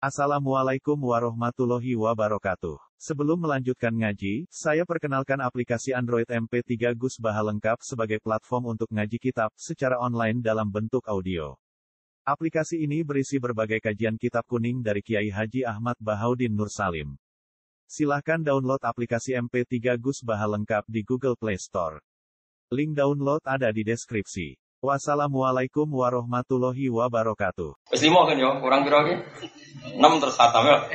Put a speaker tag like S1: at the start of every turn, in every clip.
S1: Assalamualaikum warahmatullahi wabarakatuh. Sebelum melanjutkan ngaji, saya perkenalkan aplikasi Android MP3 Gus Baha lengkap sebagai platform untuk ngaji kitab secara online dalam bentuk audio. Aplikasi ini berisi berbagai kajian kitab kuning dari Kiai Haji Ahmad Bahaudin Nur Salim. Silahkan download aplikasi MP3 Gus Baha lengkap di Google Play Store. Link download ada di deskripsi. Wassalamualaikum warahmatullahi wabarakatuh.
S2: Wis 5 kan yo, kurang piro iki? 6 terus khatam ya.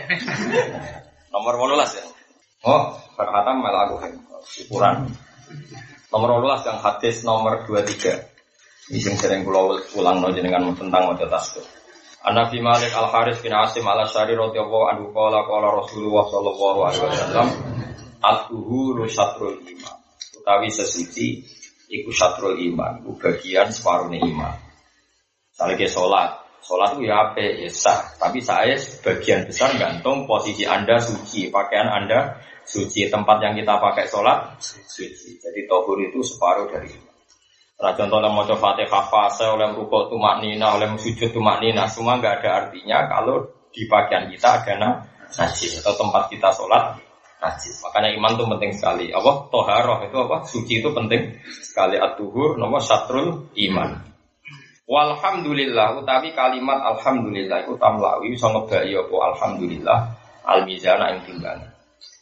S2: Nomor 18 ya. Oh, khatam malah aku kan. Syukuran. Nomor 18 yang hadis nomor 23. Ini sing sering kula ulangno jenengan tentang maca tasbih. An-Nabi Malik Al-Haris bin Asim Al-Asy'ari radhiyallahu anhu qala Rasulullah sallallahu alaihi wasallam at-tuhuru syatrul iman. Utawi sesuci iku syatrul iman, iku bagian separuhnya iman. Misalnya ke sholat itu ya apik, ya sah. Tapi saya sebagian besar gantung posisi Anda suci, pakaian Anda suci, tempat yang kita pakai sholat suci. Jadi tohur itu separuh dari iman. Nah contohnya mau coba Fatihah fase, oleh rukuk tumaknina, oleh sujud tumaknina, semua nggak ada artinya kalau di pakaian kita ada najis atau tempat kita sholat najis. Makanya iman itu penting sekali. Apa? Toharoh itu apa? Suci itu penting sekali. At-tuhur nomor syatrul iman. Walhamdulillah utawi kalimat alhamdulillah itu tamlawi iso ngebaki apa alhamdulillah al-mizana ing timbangan.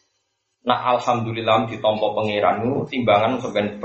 S2: Nah alhamdulillah ditampa pangeranmu timbangan sampeyan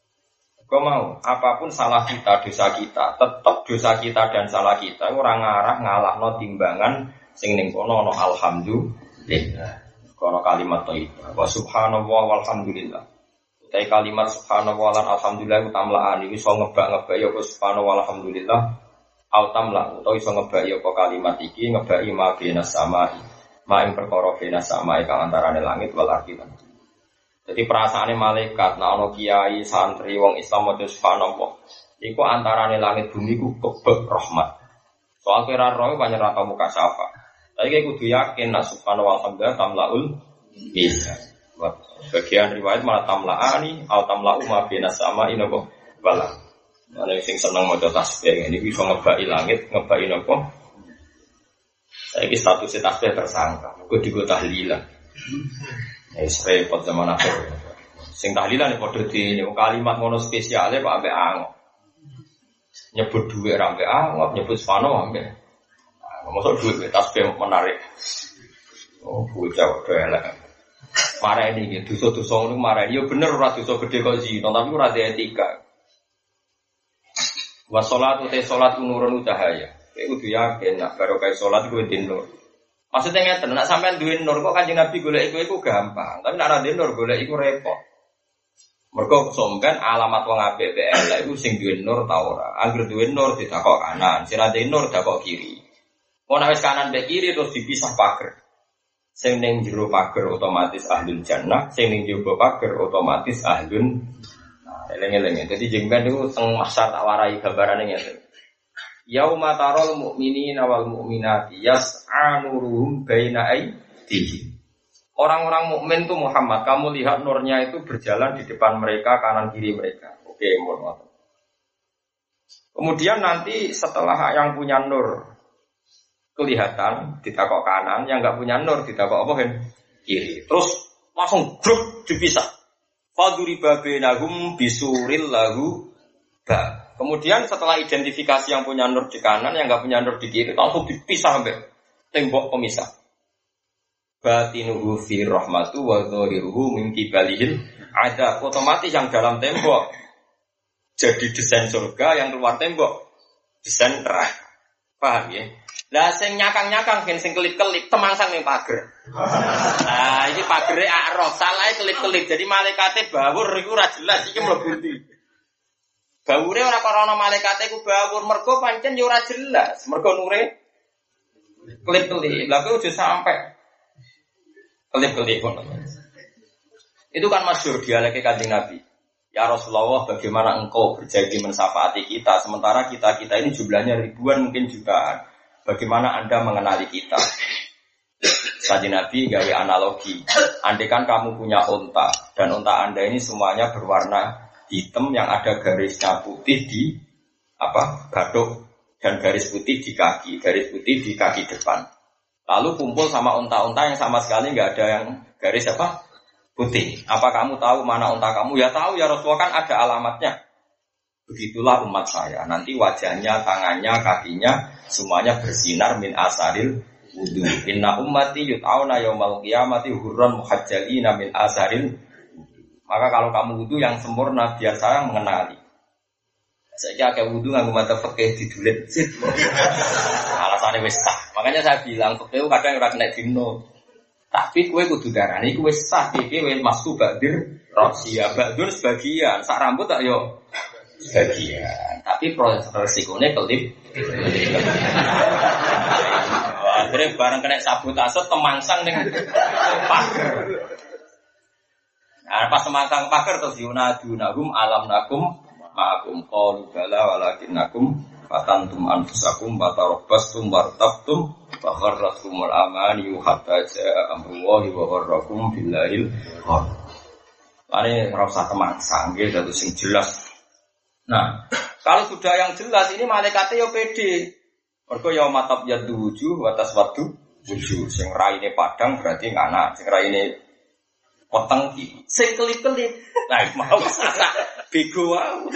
S2: kok mau apapun salah kita, dosa kita, tetap dosa kita dan salah kita ora ngarah ngalahno timbangan sing ning kono ana alhamdulillah. Kono kalimat thayyibah wa subhanallah walhamdulillah. Utai kalimat subhanallah lan alhamdulillah utamlaan iki iso ngebak-ngebak ya subhanallah walhamdulillah au tamla utawa iso ngebak ya kalimat iki ngebaki ma bina samai ma ing perkara bina samai kang antarane langit wal ardi. Jadi perasaane malaikat nek ana kiai santri wong Islam maca subhanallah iku antarane langit bumi ku kebek rahmat. Soal kira roh banyak rata muka syafa. Tapi kita kudu yakin nak subhanallah walhamdulillah tamlaul bisa. Bagian riwayat malah tamlaani atau tamlau ma bina sama inapa bala. Ana sing seneng maca tasbih ini bisa ngebaki langit, ngebaki napa? Saiki status tasbih tersangka, kudu digo tahlilan. Wis repot zaman akhir. Sing tahlilan padha di kalimat ngono spesiale Pak ambek angop. Nyebut dhuwit ra ambek angop, nyebut subhanallah ambek masuk duit tasbih menarik. Oh, bocah kok elek. Marah ini gitu, dosa-dosa ngono marah. Ya bener ora dosa gede kok zina, tapi ora ada etika. Wa sholatu te salat nurun cahaya. Kowe kudu yakin nek barokah salat kuwi nur. Maksudnya ngeten, nek sampean duwe nur kok Kanjeng Nabi golek iku gampang, tapi nek ora duwe nur golek iku repot. Mergo somben alamat wong apik elek iku sing duwe nur ta ora. Angger duwe nur ditakok kanan, sing ora duwe nur dakok kiri. Mau wis kanan be kiri terus dipisah pager. Sing ning jero pager otomatis ahlul jannah, sing ning jero pager otomatis ahlun. Nah, eleng-eleng. Dadi jengben niku teng mahsyar tak warai gambarane ngene. Yauma taral mu'minina wal mu'minati yas'a nuruhum baina aydihim. Orang-orang mukmin itu Muhammad, kamu lihat nurnya itu berjalan di depan mereka, kanan kiri mereka. Oke, mohon. Kemudian nanti setelah yang punya nur kelihatan ditakok kanan, yang enggak punya nur ditakok apa kan? Kiri. Terus langsung grup dipisah. Faduri babenahum bisuril lahu ba. Kemudian setelah identifikasi yang punya nur di kanan, yang enggak punya nur di kiri, langsung dipisah sampai tembok pemisah. Batinuhu fi rahmatu wa dhahiruhu min qibalihil ada otomatis yang dalam tembok jadi desain surga, yang keluar tembok desain neraka. Paham ya? Lah sing nyakang-nyakang ben sing kelip-kelip temangsang ning pager. Nah, iki pagere aroh, salahe kelip-kelip. Jadi malaikate bawur iku ora jelas iki mlebu ndi. Bawure ora karo ana malaikate iku bawur, mergo pancen ya ora jelas. Mergo nure kelip-kelip. Lah kuwi aja sampe kelip-kelip ngono. Itu kan masyhur dialeke Kanjeng Nabi. Ya Rasulullah, bagaimana engkau berjanji mensyafaati kita sementara kita ini jumlahnya ribuan mungkin jutaan. Bagaimana Anda mengenali kita? Kanjeng Nabi gawe analogi. Andai kan kamu punya unta dan unta Anda ini semuanya berwarna hitam yang ada garisnya putih di gaduk dan garis putih di kaki depan. Lalu kumpul sama unta-unta yang sama sekali nggak ada yang garis apa? Putih. Apa kamu tahu mana unta kamu? Ya tahu ya Rasulullah, kan ada alamatnya. Begitulah umat saya. Nanti wajahnya, tangannya, kakinya semuanya bersinar min asaril wudu. Inna ummati yut'auna yaumal qiyamati hurran muhajjalina min asaril. Maka kalau kamu wudu yang sempurna biar saya mengenali. Saya kayak wudu nganggo mata fikih didulit. Alasannya wis sah. Makanya saya bilang fikih kadang ora kena dino. Tapi kowe kudu darani kowe sah iki wis masku badir rasia badun sebagian. Sak rambut tak yo sebagian. Tapi proses resikonya kelip. Akhirnya barang kena sabotase temangsang ning pager. Nah, pas temangsang pager terus yunadunahum alam nakum ma'akum qalu bala walakinnakum fatantum anfusakum batarabbastum wartabtum wa gharratkumul amani hatta ja'a amrullahi wa gharrakum billahil ghar. Lane ora usah temangsang nggih dadi sing jelas. Nah, kalau sudah yang jelas ini malaikate yo pede. Mergo ya matab yadu wujuh wa taswaddu wujuh. Sing raine padang berarti ngana, sing raine poteng iki. Sing kelip-kelip. Nah, mau salah bego wae.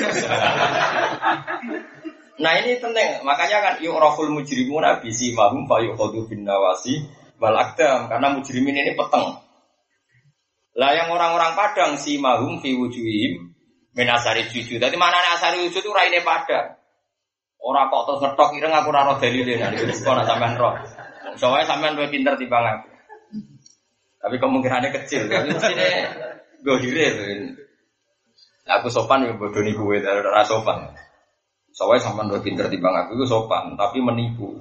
S2: Nah, ini penting. Makanya kan yu'raful mujrimuna bisi mahum fa yuqadu bin nawasi wal aqdam, karena mujrimin ini peteng. Lah yang orang-orang Padang si mahum fi wujuhim min asari sujud. Dadi manane asari sujud itu raine padang. Ora kok terus ngetok ireng aku ora ro dalile nek iki kok nek sampean ro. Soale sampean luwih pinter timbang aku. Tapi kemungkinannya kecil. Tapi mestine gohire to. Aku sopan ya bodoni kowe ora sopan. Soale sampean luwih pinter timbang aku iku sopan, tapi menipu.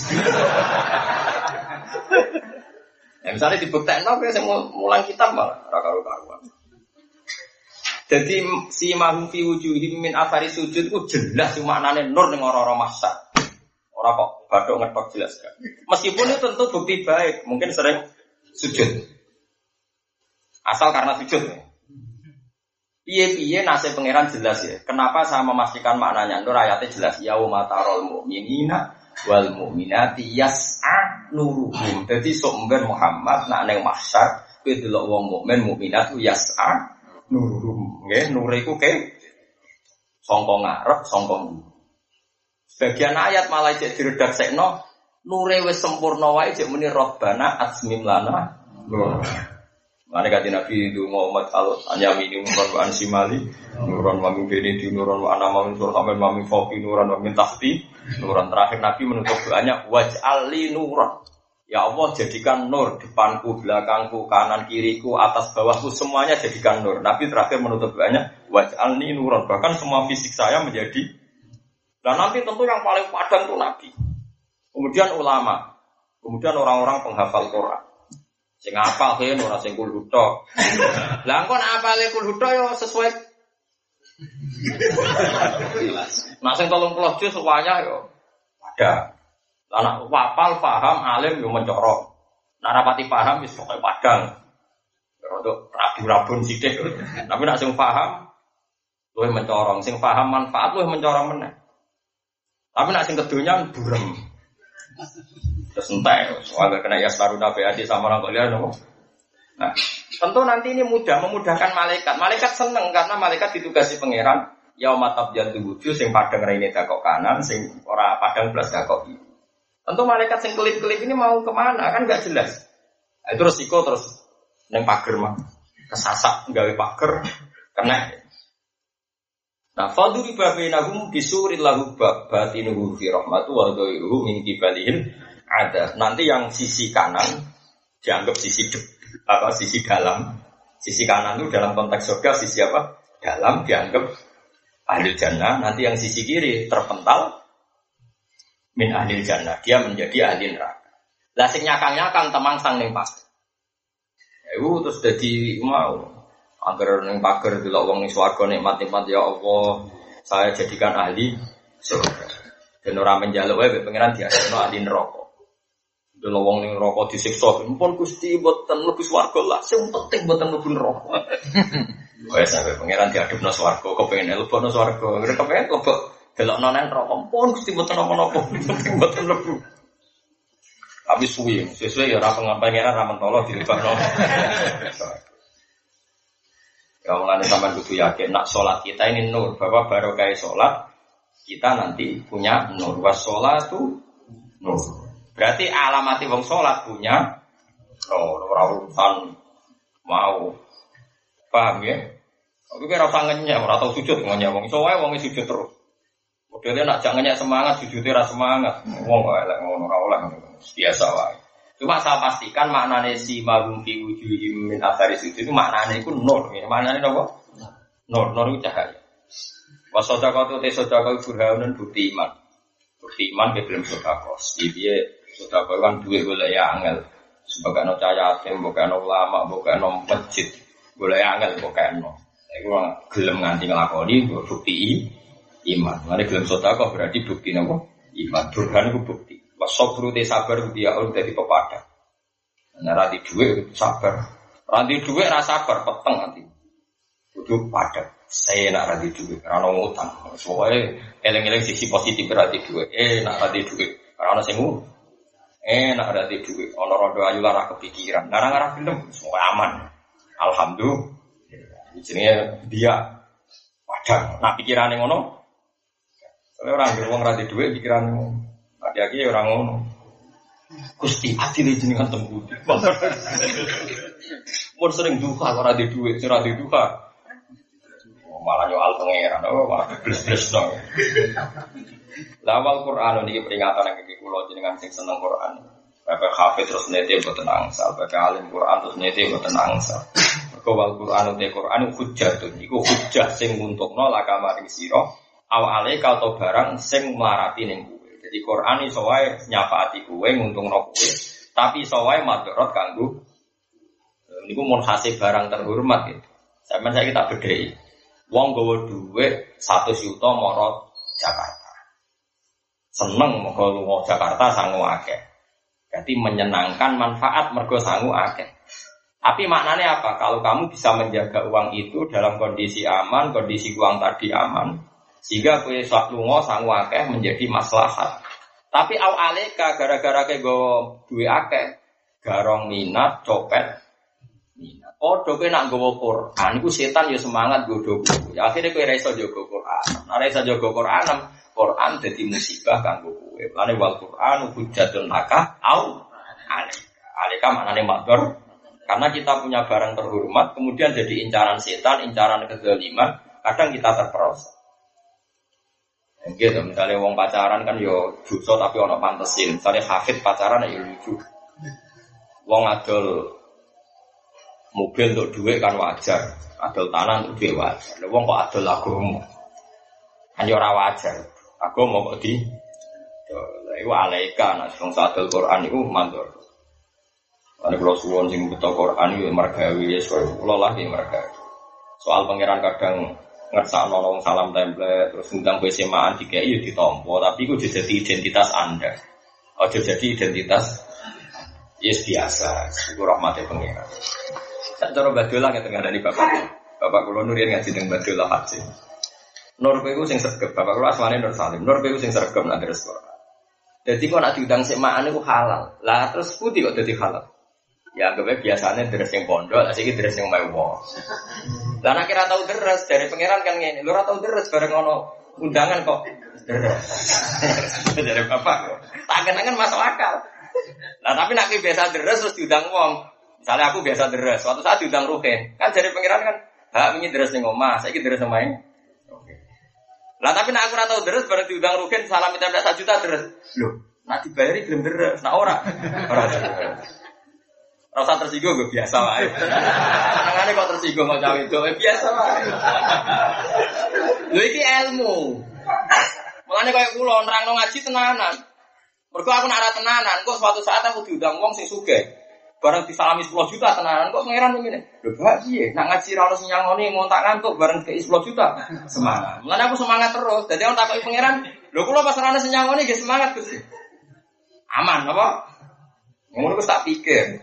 S2: Ya misalnya dibuktekno kowe sing mulang kitab malah ora karo-karuan. Jadi si mahum fi wujuhim min athari sujud itu jelas maknane nur ning ora-ora masak. Ora kok bathuk ngetok jelas kan. Meskipun itu tentu bukti baik, mungkin sering sujud. Asal karena sujud. Piye-piye nasib pangeran jelas ya. Kenapa saya memastikan maknanya? Nur ayatnya jelas. Yauma tarol mu'minina wal mu'minati yas'a nuruhum. Jadi sumber Muhammad nak ning mahsyar kowe delok wong mukmin mukminat yas'a nuruhum, nggih, nur iku ke sangka ngarep, sangka mburi. Sebagian ayat malah cek diredaksekno, nure wis sempurna wae cek muni Rabbana atsmim lana nur. Mane kate Nabi donga umat alus anyami nuron wa ansimali, nuron wa min bini nuron wa anama min surhamin wa min fawqi nuron wa min tahti. Nuron terakhir Nabi menutup doanya waj'al li nuran. Ya Allah jadikan nur depanku, belakangku, kanan, kiriku, atas, bawahku semuanya jadikan nur. Nabi terakhir menutup doanya waj'alni nuran. Bahkan semua fisik saya menjadi. Dan nanti tentu yang paling padang itu Nabi. Kemudian ulama, kemudian orang-orang penghafal Quran. Sing hafal kan ora sing kul hutha. Lah engko nek hafale kul hutha yo sesuai. Nah sing 30 juz semuanya yo ada. Anak wapal, paham, alim, yo mencorok. Nak rapati paham, wis pokoke padang. Untuk rabi-rabun sithik. Tapi nak sing paham, luwih mencorong. Sing paham manfaat luwih mencorong meneh. Tapi nak sing kedonyan burem. Terus entek, soalnya kena yaslaruna bi'adi sama orang kalian. Nah, tentu nanti ini memudahkan malaikat. Malaikat seneng karena malaikat ditugasi pangeran. Yauma tabyaddu wujuh, sing padang raine dakok kanan, sing ora padang blas dakok kiri. Tentu malaikat sing kelip-kelip ini mau kemana kan nggak jelas. Nah, itu resiko terus neng pager mah kesasak gawe pager kena. Nah, faduri babainahum bisuril lahu batinuhu fi rahmatu wa dhairuhu min qibalihil ada. Nanti yang sisi kanan dianggap sisi sisi dalam. Sisi kanan itu dalam konteks surga, sisi apa? Dalam dianggap ahli jannah. Nanti yang sisi kiri terpental min ahli jannah, dia menjadi ahli neraka. Lah sing nyakang-nyakang temangsang ning pager. Ya terus dadi mau agar ning pager delok wong ning swarga nikmat-nikmat ya Allah, saya jadikan ahli surga. Dan ora menjaluk wae pengiran diasino ahli neraka. Delok wong ning neraka disiksa, mumpun Gusti mboten mlebu swarga lah, sing penting mboten mlebu neraka. Wes sampe pengiran diadepno swarga, kepengin mlebu swarga, kepengin mlebu delok nonen rokok pun Gusti mboten napa-napa, mboten lebu. Tapi suwi, sesuai ya ora pengeran ra mentolo dilebakno. Ya mulane sampean kudu yakin nak salat kita ini nur, bahwa barokah salat kita nanti punya nur. Was sholatu nur. Berarti alamati wong salat punya ora urusan mau. Paham ya? Aku kira ora ngenyek, ora tau sujud ngenyek wong iso wae wong sujud terus. Modele nak jak ngenyek semangat sujudé ra semangat. Wong kok elek ngono ora oleh biasa wae. Cuma saya pastikan maknane si magum fi wujuhim min athari sujud itu maknane iku nur. Maknane napa? Nur itu cahaya. Wa sadaqatu te sadaqah burhanun bukti iman. Bukti iman ke belum sedekah. Piye sedekah kan duwe golek ya angel. Sebagai no cahaya yatim, bukan no ulama, bukan no masjid. Golek angel bukan no. Iku gelem nganti nglakoni bukti iman. Mane gelem sedekah berarti bukti napa? Iman. Burhan iku bukti. Wasabru te sabar dia ora dadi pepadang. Nek ra di dhuwit sabar. Ra di dhuwit ra sabar peteng nanti. Kudu padang. Saya nak ra di dhuwit, ra ono utang. Soale eling-eling sisi positif ra di dhuwit. Nak ra di dhuwit, ra ono sing nak ra di dhuwit, ono rondo ayu lara kepikiran. Ngarang-ngarang film semua aman. Alhamdulillah. Jenenge dia padang. Nak pikirane ngono. Soale ora ngira wong ra di dhuwit pikirane ngono. Hati-hati orang ngono. Gusti adil jenengan tembudi. Mun sering duka ora di dhuwit, ora di duka. Malah nyoal pangeran, malah bles-bles dong. Lawal Quran niki peringatan nang iki kula jenengan sing seneng Quran. Bapak hafid terus nete mboten angsal, bapak alim Quran terus nete mboten angsal. Mergo wal Quran te Quran hujjatun iku hujjah sing nguntungno lakamaring sira awale kalto barang sing mlarati ning jadi Quran iso wae nyafaati kowe nguntungno kowe, tapi iso wae madharat kanggo niku mun hasil barang terhormat gitu. Sampeyan saiki tak bedheki. Wong gawa dhuwit 100 juta marang Jakarta. Seneng mergo lunga Jakarta sangu akeh. Jadi menyenangkan manfaat mergo sangu akeh. Tapi maknanya apa? Kalau kamu bisa menjaga uang itu dalam kondisi aman, kondisi uang tadi aman, sehingga kowe sak lunga sangu akeh menjadi maslahat. Tapi au aleka gara-gara kowe nggawa duwe akeh, garong minat, copet minat. Padha kowe nak nggawa Quran iku setan ya semangat nggodho kowe. Ya akhire kowe ra iso jaga Quran. Ora iso jaga Quran dadi musibah kanggo kowe. Lane wal Quran hujjatun laka au aleka. Aleka maknane madhar. Karena kita punya barang terhormat kemudian jadi incaran setan, incaran kezaliman, kadang kita terperosok. Gitu, misalnya wong pacaran kan yo dosa tapi ono pantesin. Misalnya hafid pacaran ya lucu. Wong adol mobil untuk duit kan wajar, adol tanah untuk duit wajar. Wong kok adol agama, kan yo ora wajar. Agama kok di, itu alaika. Nah, wong adol Quran itu mandor. Karena kalau suwon sing betul Quran itu margawi ya, kalau lah di margawi. Soal pangeran kadang ngerasa nolong salam template terus undang besemaan tiga itu ditompo tapi itu jadi identitas Anda. Jadi identitas yes biasa. Itu rahmatnya pengiran. Saya cara badolah yang tengah dari bapak kulo nurin ngaji dengan badolah haji. Nur itu sing sergap bapak kulo asmane Nur Salim. Nur itu sing sergap nanti restoran. Jadi kok nak diundang semaan itu halal. Lah terus putih kok jadi halal. Ya anggapnya biasanya deres yang pondok, asik deres yang mewah. Lah nek kira tau deres dari pangeran kan ngene. Lu ora tau deres bareng ono undangan kok. Deres. Dari bapak kok. Tak kenangan masuk akal. Nah tapi nek biasa deres terus diundang wong. Misalnya aku biasa deres, suatu saat diundang Ruhin. Kan dari pangeran kan, hak wingi deres ning omah, saiki deres omahe. Oke. Lah tapi nek aku ora tau deres bareng diundang Ruhin salam minta 1 juta deres. Lho, nek dibayari gelem deres, nek ora. Ora. Rasa tersinggung gue biasa lah. Tangannya kok tersinggung mau cawe itu biasa lah. Lu ini ilmu. Makanya kayak kulo nerang ngaji tenanan. Mergo aku nak tenanan, kok suatu saat aku diundang wong sing sugih. Bareng disalami 10 juta tenanan kok pangeran ngene. Lho Pak piye? Nak ngaji ra ono sing nyangoni ngontak ngantuk bareng kei 10 juta. Semangat. Mulane aku semangat terus. Dadi orang takoki pangeran, lho kula pas ra ono sing nyangoni nggih semangat Gusti. Aman apa? Ngono wis tak pikir.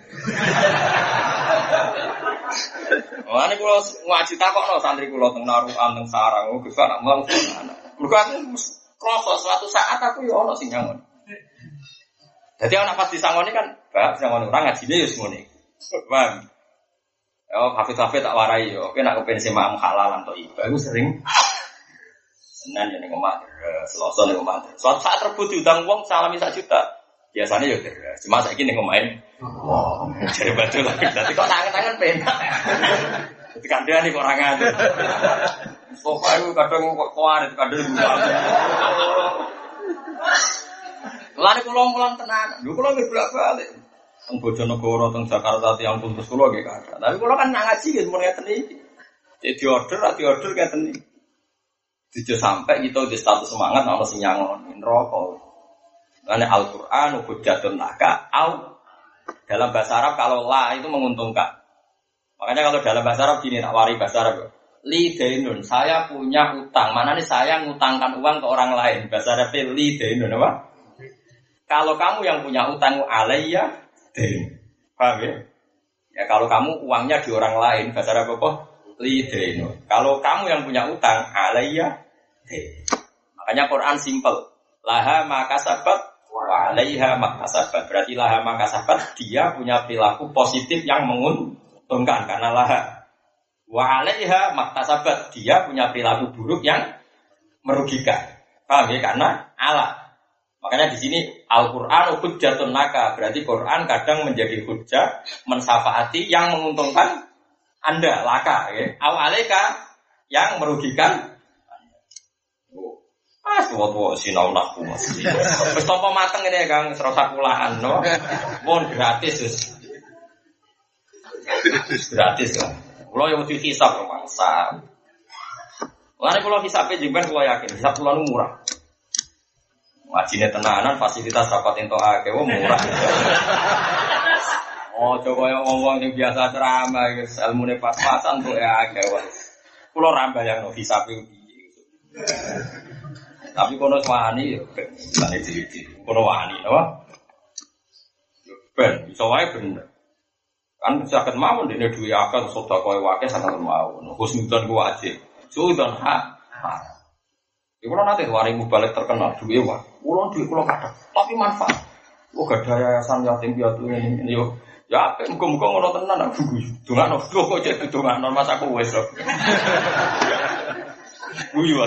S2: Mulane kula ngaji takokno santri kula teng Narukan teng Sarang, Gus anak mung anak. Mergo aku krasa suatu saat aku ya ono sing nyangon. Jadi anak pas disangoni kan, bah disangoni orang ngajine ya semua nih. Paham? Oh, kafe-kafe tak warai yo. Oke, nak kepen sema halal atau iba. Aku sering Senin ning omah, Selasa ning omah. Suatu saat rebut diutang wong salami 1 juta. Biasanya ya cuma saiki ning omahe. Wah, jare betul lagi. Dadi kok tangan-tangan penak. Dadi kandhane kok ora ngatur. Pokoke kadang kok kuarit, kadang buang. Lane kula mulang tenan. Lho kula nggih bolak-balik. Teng Bojonegoro, teng Jakarta, tiyang puntus kula nggih kathah. Tapi kula kan nang ngaji nggih mun ngeten iki. Jadi order ngeten iki. Dijo sampai kita di status semangat ana sing nyangon neraka. Karena Al-Qur'an hujjatun laka au dalam bahasa Arab kalau la itu menguntungkan. Makanya kalau dalam bahasa Arab gini tak wari bahasa Arab. Li dainun, saya punya utang. Mana nih saya ngutangkan uang ke orang lain. Bahasa Arab li dainun apa? Kalau kamu yang punya utang alayya dain. Paham ya? Ya kalau kamu uangnya di orang lain bahasa Arab apa? Li dainun. Kalau kamu yang punya utang alayya dain. Makanya Quran simple. Laha makasabat wa 'alaiha maktasabat. Berarti laha makasabat dia punya perilaku positif yang menguntungkan karena laha. Wa 'alaiha maktasabat dia punya perilaku buruk yang merugikan. Paham ya? Karena ala. Makanya di sini Al-Qur'an hujjatun laka. Berarti Quran kadang menjadi hujjah mensafaati yang menguntungkan Anda laka ya. Au 'alaika yang merugikan tua-tua sinau nakku mas. Wis tampa mateng ngene Kang, serasa kulaan no. Mohon gratis wis. Gratis kan. Kula yo wedi hisab mangsa. Lane kula hisabe jemben kula yakin, hisab kula nu murah. Wajine tenanan fasilitas dapat entuk akeh murah. Oh, coba yo ngomong sing biasa ceramah wis ilmune pas-pasan kok akeh wis. Kula ra bayangno hisabe piye. Tapi kono wani yo ben diri-diri. Kono wani apa? Ben iso wae bener. Kan saged mawon dene duwe akeh sedekah wae saged mawon. Husnudzon ku wajib. Sudzon hak. Iku ora nate waring balik terkenal duwe wae. Kula duwe kula kathah, tapi manfaat. Oh gadah yayasan yatim piatu ngene yo. Ya apik muga-muga ngono tenan aku. Dongano kok cek dongano Mas aku wis. Guyu.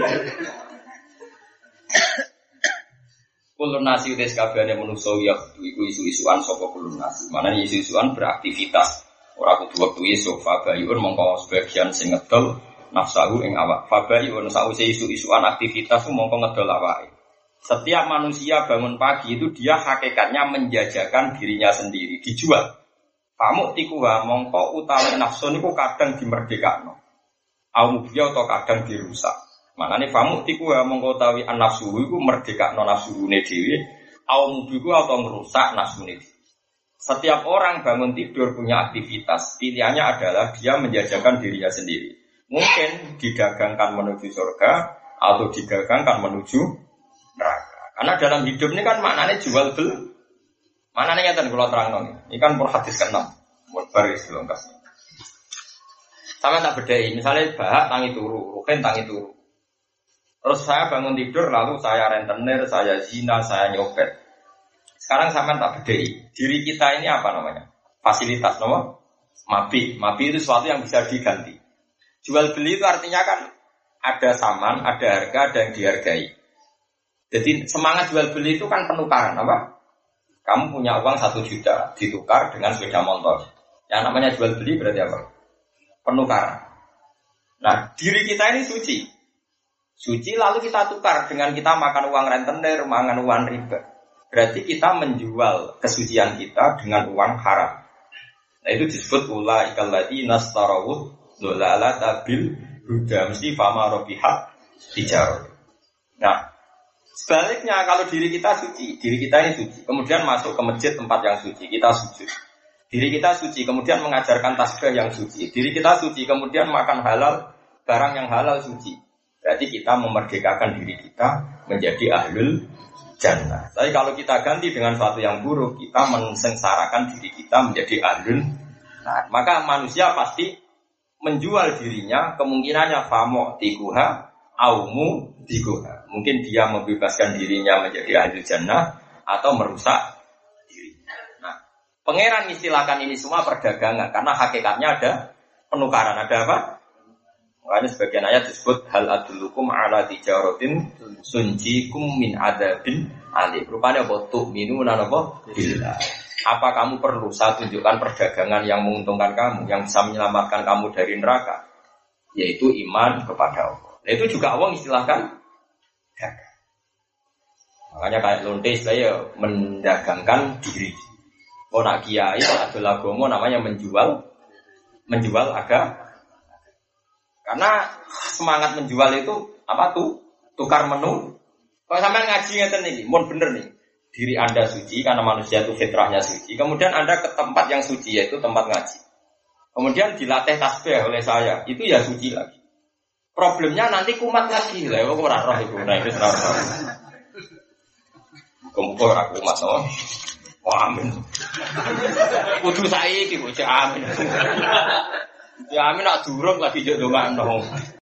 S2: Kulun nasi udah sekabehane manusa ya iku isu-isuan saka kulun nasi. Manane isu-isuan beraktivitas. Ora kudu wektu iso fabayun mongko sebagian sing ngedol nafsahu ing awak. Fabayun sause isu-isuan aktivitas mongko ngedol awake. Setiap manusia bangun pagi itu dia hakikatnya menjajakan dirinya sendiri, dijual. Pamuk tikuha mongko utawi nafsu niku kadang dimerdekakno. Au mubiya atau kadang dirusak. Maknane famuk tiku ya mongko utawi an-nafsu iku merdekakno nafsune dhewe, au mubiku atau merusak nafsune dhewe. Setiap orang bangun tidur punya aktivitas, pilihannya adalah dia menjajakan dirinya sendiri. Mungkin didagangkan menuju surga atau didagangkan menuju neraka. Karena dalam hidup ini kan maknanya jual beli. Maknanya ngeten kula terangno. Ini kan pun hadis ke-6. Mun baris lengkap. Sama tak bedai, misalnya bahak tangi turu, ruhen tangi turu. Terus saya bangun tidur, lalu saya rentenir, saya zina, saya nyopet. Sekarang sampean tak bedai. Diri kita ini apa namanya? Fasilitas, nomor? Mabi. Mabi itu sesuatu yang bisa diganti. Jual beli itu artinya kan ada saman, ada harga, ada yang dihargai. Jadi semangat jual beli itu kan penukaran, apa? Kamu punya uang 1 juta, ditukar dengan sepeda motor. Yang namanya jual beli berarti apa? Penukaran. Nah, diri kita ini suci. Suci lalu kita tukar dengan kita makan uang rentenir, makan uang riba. Berarti kita menjual kesucian kita dengan uang haram. Nah itu disebut ulaikal ladzina nastarawuh dolalata bil huda mesti fama robihat tijarah. Nah sebaliknya kalau diri kita suci, diri kita ini suci, kemudian masuk ke masjid tempat yang suci, kita sujud. Diri kita suci, kemudian mengajarkan tasbih yang suci. Diri kita suci, kemudian makan halal, barang yang halal suci. Berarti kita memerdekakan diri kita menjadi ahlul jannah. Tapi kalau kita ganti dengan sesuatu yang buruk, kita mensengsarakan diri kita menjadi ahlul. Nah, maka manusia pasti menjual dirinya, kemungkinannya famo tikuha, aumu tikuha. Mungkin dia membebaskan dirinya menjadi ahlul jannah atau merusak Pangeran istilahkan ini semua perdagangan karena hakikatnya ada penukaran, ada apa? Makanya sebagian ayat disebut hal adulukum ala tijaratin sunjikum min adabin alim. Rupanya apa? Tu'minuna apa? Billah. Apa kamu perlu saya tunjukkan perdagangan yang menguntungkan kamu, yang bisa menyelamatkan kamu dari neraka? Yaitu iman kepada Allah. Nah, itu juga Allah istilahkan dagang. Makanya kayak lonte saya mendagangkan diri. Oh nak kiai, nak agama namanya menjual agama. Karena semangat menjual itu apa tuh? Tukar menu. Kalau sampai ngaji ngeten niki, mun bener nih. Diri Anda suci karena manusia itu fitrahnya suci. Kemudian Anda ke tempat yang suci yaitu tempat ngaji. Kemudian dilatih tasbih oleh saya, itu ya suci lagi. Problemnya nanti kumat lagi. Lah kok ora roh iku. Nah, itu ora roh. Kumpul aku kumat to. Wah, amin. Kudu saiki kok amin. Ya amin nak durung lagi njok ndongakno.